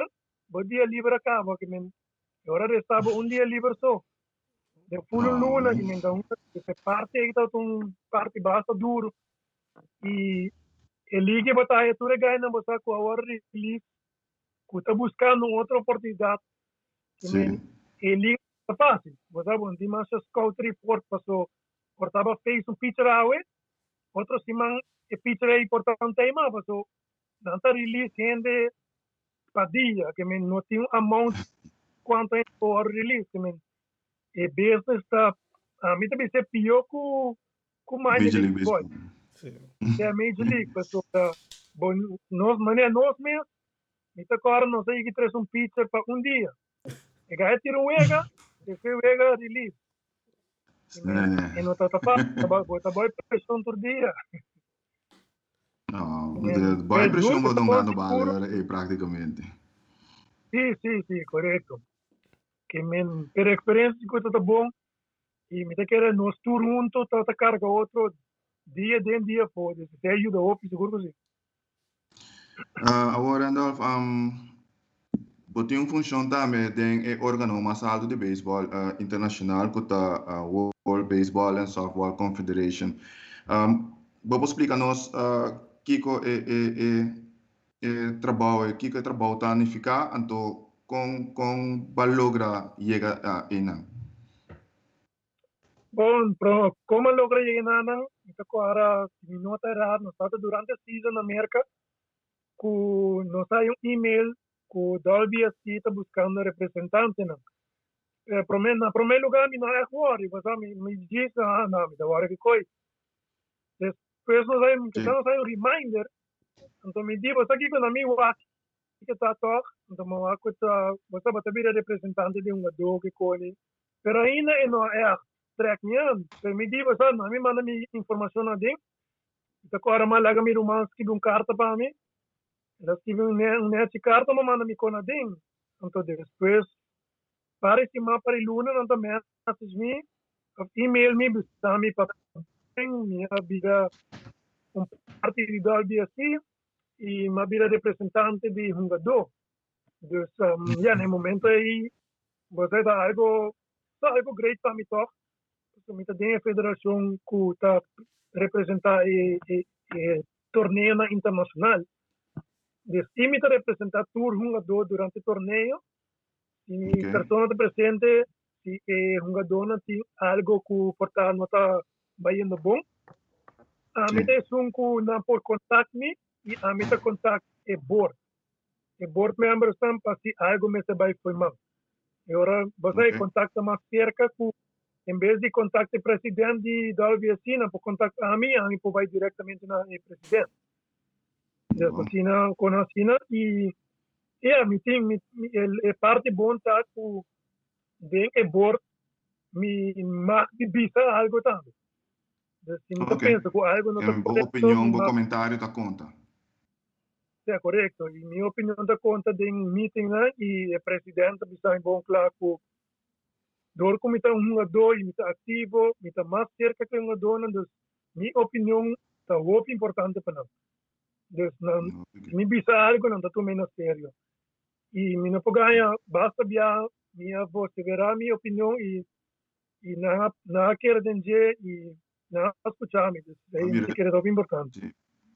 livre acaba que me agora restava dia livre só de full luna que me então se parte aí tá parte basta duro e ele que botar a tua ganha botar com a hora release que tá buscando outra oportunidade que me ele tá fácil botar bom de mais scout report passou portava fez pitcher awe outro semana e pitcher aí portava tema passou não tá release ainda Padilla que me não tinha amount quanto é por release que me e business está a mim também se pior com mais de baseball é a Major League passou bom nós mesmo me agora não sei que traz pitcher para dia e ganha tiro wega e foi wega release e não tá fácil tá boa pressão todo dia boa pressão vou dar no bala praticamente sim correto que men per experiência que tá bom e me quer nós tour junto tá carga outro dia pode se ajuda o seguro assim agora Randolph botinho função também tem órgão mais alto de beisebol internacional que tá World Baseball and Softball Confederation vamos explicar-nos Kiko trabalho tá unificar então com logra chegar a ina bom como logra chegar na então agora não tá errado nós tá durante a season na América com nós sai email com Dolby está buscando representante não primeiro lugar, me não é worry, mas me diz, não, me dá hora que coi. Depois nós aí um reminder, então me diz, você aqui quando me watch, que está toque, então me watch, você vai ter representante de do que coi. Pero ainda não é track niyan. Pero me diz, você não me manda me informação na ding. Então agora mais laga me romance que carta para mim. Elas que net carta me manda me na ding. Então depois para esse mapa para luna não também message me, email me, bisa me para minha vida parte de DLBSC e uma vida representante de Hungado. Dus no momento aí você dá algo great para mim toch. Então me tem a federação que está representar torneio internacional. Dus me está representar tour Hungado durante o torneio. E pessoa presente se Hungado tem algo que portar nota baiano bom. A mim tem que não por contact me e a mim tem contact board. E board members estão para se algo me se vai formar. E agora você contacta mais cerca que em vez de contactar o presidente da LVC, não pode contactar a mim pode vai diretamente na presidente. Então, com a Sina e a mim tem parte bom tá que bem board me mais de bisa algo também. Então, pensa que algo não está boa opinião, bom comentário da conta. É correto. E minha opinião da conta de meeting e o presidente está bom claro que door como está Hungado e está ativo, está mais cerca que Hungado, então minha opinião está muito importante para nós. Então, me bisa algo não está tomando a sério. E minha pogaya basta via minha voz verá minha opinião e na quer dizer e na escutar me. Isso é que é muito importante.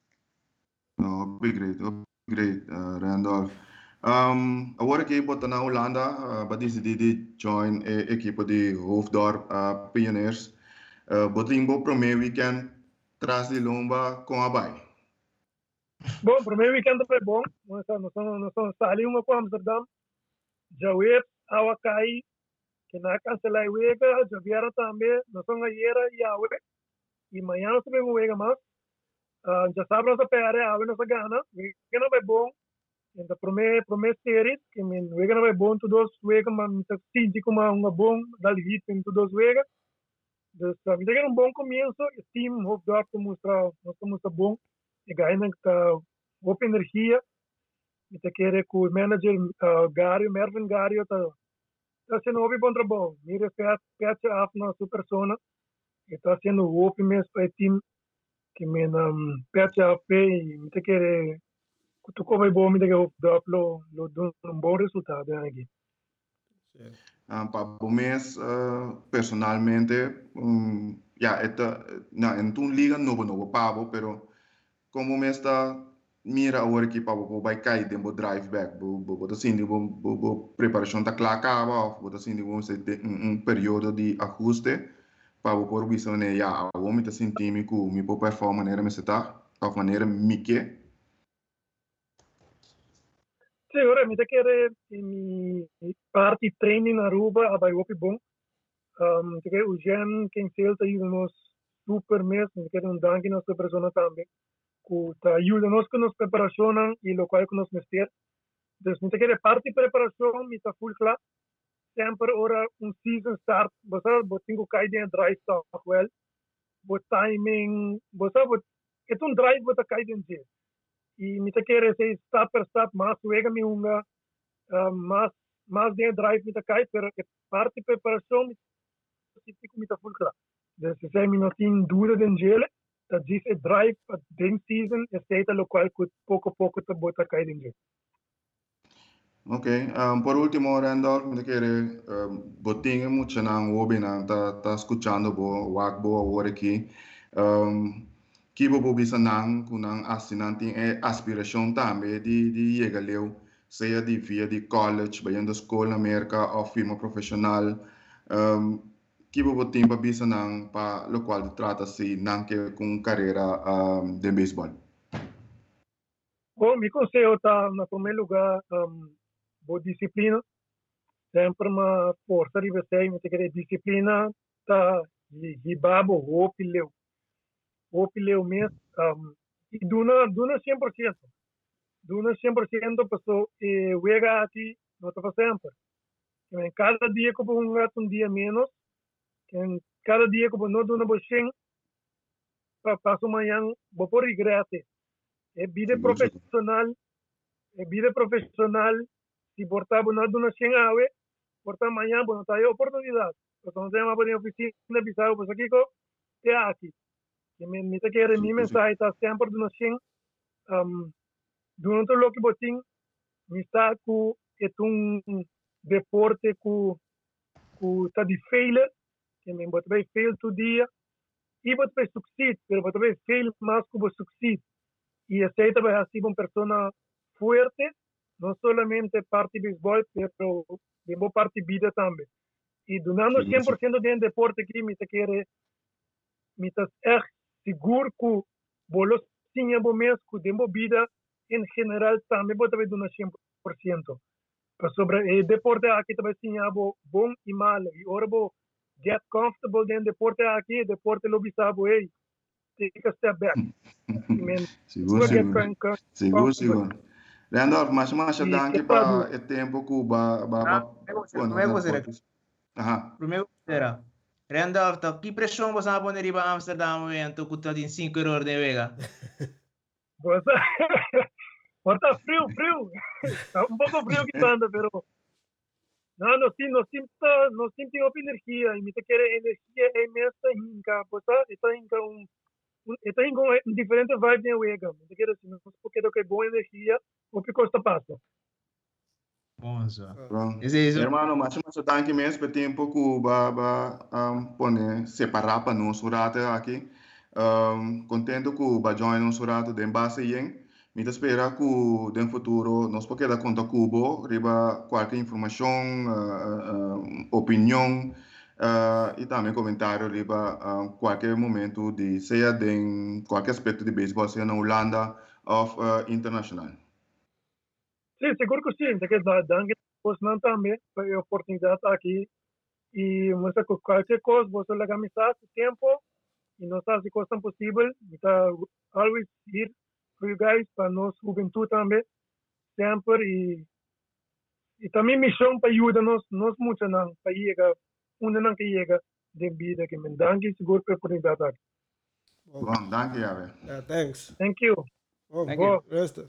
No, great, Randolph. Agora que eu na Holanda, decidi join a equipe de Hoofddorp Pioneers. Botimbo primeiro weekend traz de lomba com a Bai. Bom, primeiro weekend foi bom. Nós somos saímos para Amsterdam. Já veio a Wakai, que na cancelar o wega, já vieram também. Nós somos a Iera e a Wega. E amanhã nós vamos wega mais. Já sabe nossa pere, a nossa gana. Wega não vai bom. Então, primeira série, que wega não vai bom, todos wega, mas sinto como uma bom, dali hit em todos wega. Então, me tem um bom começo. O time Hoofddorp mostra bom. E ganha boa energia. E te quer que o manager Mervin Gario está sendo um bom trabalho. Me respeita a nossa persona. E está sendo um bom mesmo para o time. Que me pede a fé e me te quer que tu come bom, me te quer lo bom resultado aqui. Para o mês, personalmente, em tu liga novo pavo, pero como me está mira agora que para vai cair dentro drive back, botar assim de preparação tá clara acaba, botar assim de um período de ajuste para o visão né já o homem tá sentindo que me pode performar maneira me está de maneira mique. Sim, ora me quer mi parte training na Aruba vai o bom. Te quer o Jen quem celta e nos super mês, me quer danke nossa persona também. Que ajuda-nos com nossa preparação e o qual que nos mestre. Então, me quer parte preparação, me está full claro. Sempre ora season start, você tenho que cair dentro drive stop well. But timing, você é drive você cai dentro. E me quer ser step per step, mais wega me mais dentro drive me cai, pero parte preparação me está full claro. Então, se me não tem dúvida dentro dat is het drive den season é feita local que pouco a pouco te bota cair dentro. Ok, por último, Randolph, me quer botinho muito na webina tá escutando bo wakbo agora aqui. Que bo bisa nang kunang assinante é aspiração também de chegar leu, seja de via de college, bayando escola na América ou firma profissional. Que bo botinho bisa nang pa lo qual trata-se nang que com carreira de beisebol. Bom, me conselho tá na primeiro lugar boa disciplina. sempre uma força de você, me querer disciplina, tá, e babo, opileu mesmo, e duna 100%. Duna 100% passou, e wega aqui, não está sempre. En cada dia que um dia menos, en cada dia que não duna bocheng, passo amanhã, vou por regrete. É vida profissional, se portar não duna 100 awe, portar amanhã, não tá aí oportunidade. Então, se uma oficina, bisao, pues aqui, é aqui. Que me te quer mi mensagem está sempre duna 100, durante o que botin, me está com deporte com tá de failure, que me botar fail todo dia, e botar succeed, pero botar fail mais que succeed. Y aceita vai ser uma pessoa fuerte, não somente parte beisebol, pero de boa parte vida também. E donando 100% de deporte aqui, me quer seguro que bolos tinha bom mês, que de vida em geral também botar donar 100%. Sobre deporte aqui também tinha bom e mal. E ora get comfortable de deporte aqui, deporte lo bisabo, take a step back. Seguro. Randolph, mas danke para o tempo que Primeiro, Randolph, que pressão você vai pôr para Amsterdam, evento que está em 5 horas de vega? Está frio. Está pouco frio que anda, pero não sinto energia. E me quer energia é nessa hinca, está em diferente vibe de vega. Me quer assim, não porque é boa energia, o que custa passa. Hermano, mas danke mesmo pelo tempo que vai separar para nós aqui. Contento que vai join nós de base aí. Me espera que no futuro nós podemos dar conta Cubo, riba qualquer informação, opinião e também comentário riba qualquer momento de seja em qualquer aspecto de beisebol, seja na Holanda ou internacional. Sim, seguro que sim. Que danke não também a oportunidade aqui e mostra que qualquer coisa você leva amizade, tempo e não sabe se coisa possível. Está always here for you guys, para nós juventude também, sempre e também missão para ajudar nós muito não para chegar onde não que chega de vida que me danke seguro para a oportunidade aqui. Bom, danke, Yahweh. Thanks. Thank you. Thank you. Rest.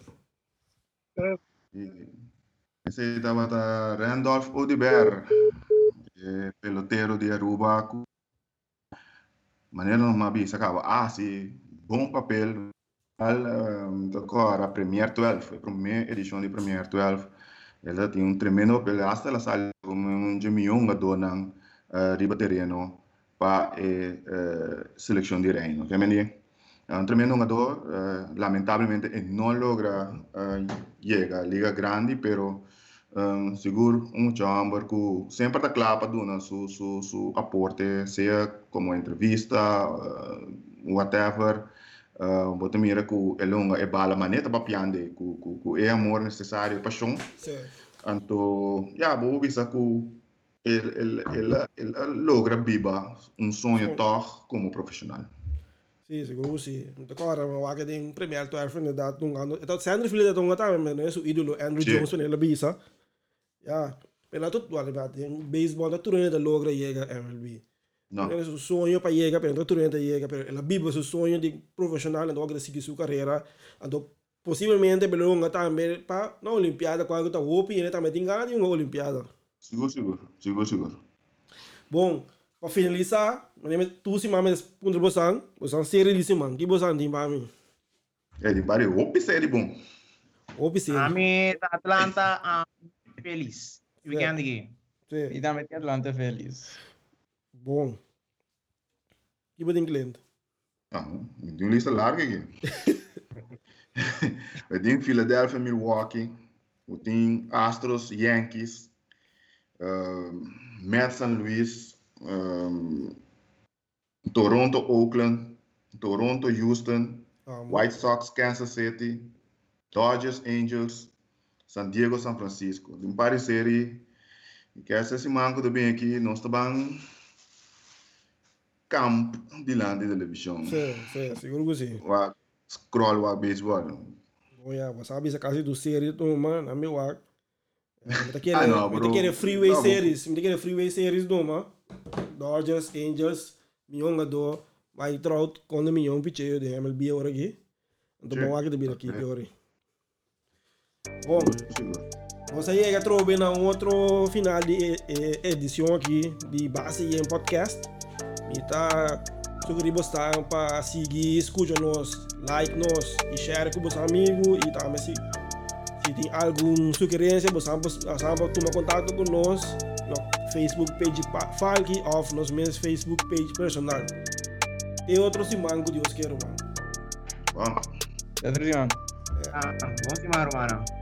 Esse estava Randolph Odibert, pelotero de Aruba. Maneira não me acaba. Sim, bom papel. Agora, Premier 12, a primeira edição de Premier 12. Ela tem tremendo papel. Hasta ela sai como Jamiunga dona riba terreno para seleção de reino. Tremendo jogador, lamentavelmente não logra llegar a Liga Grande, pero seguro chamber que sempre está claro para su aporte, seja como entrevista, whatever. Bota mira que ele é bala maneta para piande, que é amor necessário, paixão. Então, vou bisa que ele logra viver sonho toch como profissional. Sì, seguro sì. Agora, ma che in Premier 12 inderdaad toen gaan. Dat zijn er veel dat gaan met su idolo Andrew Jones nella bisa. Ja, per la tutto guarda, in baseball dat toen dat logra llega MLB. No. È su sogno para llegar, pero toen dat llega, pero la Bibbia su sogno di professional and logra seguir su carreira. And possibilmente per lunga también pa na Olimpiada quando tá hopi e também tem ganho uma Olimpiada. Seguro. Bom, para finalizar, tu se mames punto bosan, bosan série de semana, que bosan tem para mim? É de bari, opi série bom. Opi série. A mim Atlanta feliz. Weekend aqui. Sim. E também Atlanta feliz. Bom. Que bom cliente. Tem uma lista larga aqui. Eu tenho Philadelphia, Milwaukee, eu tenho Astros, Yankees, Mets, St. Louis, Toronto, Oakland, Toronto, Houston, White Sox, Kansas City, Dodgers, Angels, San Diego, San Francisco. De uma série E que essa semana que eu bem aqui, nós estamos camp de lá de televisão. Sim, seguro que sim. O scroll o beisebol. Olha, você sabe essa casa do série, mano, na meu ar. não, bro. Me quer freeway Não, series, me quer freeway series do mano. Dodgers, Angels, minha do, Mike Trout, quando minha picheio de MLB agora aqui. Então Sim. vamos aqui aqui agora. Bom, Seguro. você aí já trouxe na outro final de edição aqui de Base em Podcast. E tá sugerindo você para seguir, escuta nós, like nós e share com os amigos. E também se tem alguma sugerência, você pode tomar contato com nós no Facebook page Falky ou nos meus Facebook page personal. E outro semana que Deus quer, mano. Bom. Adriano. Vamos embora, mano.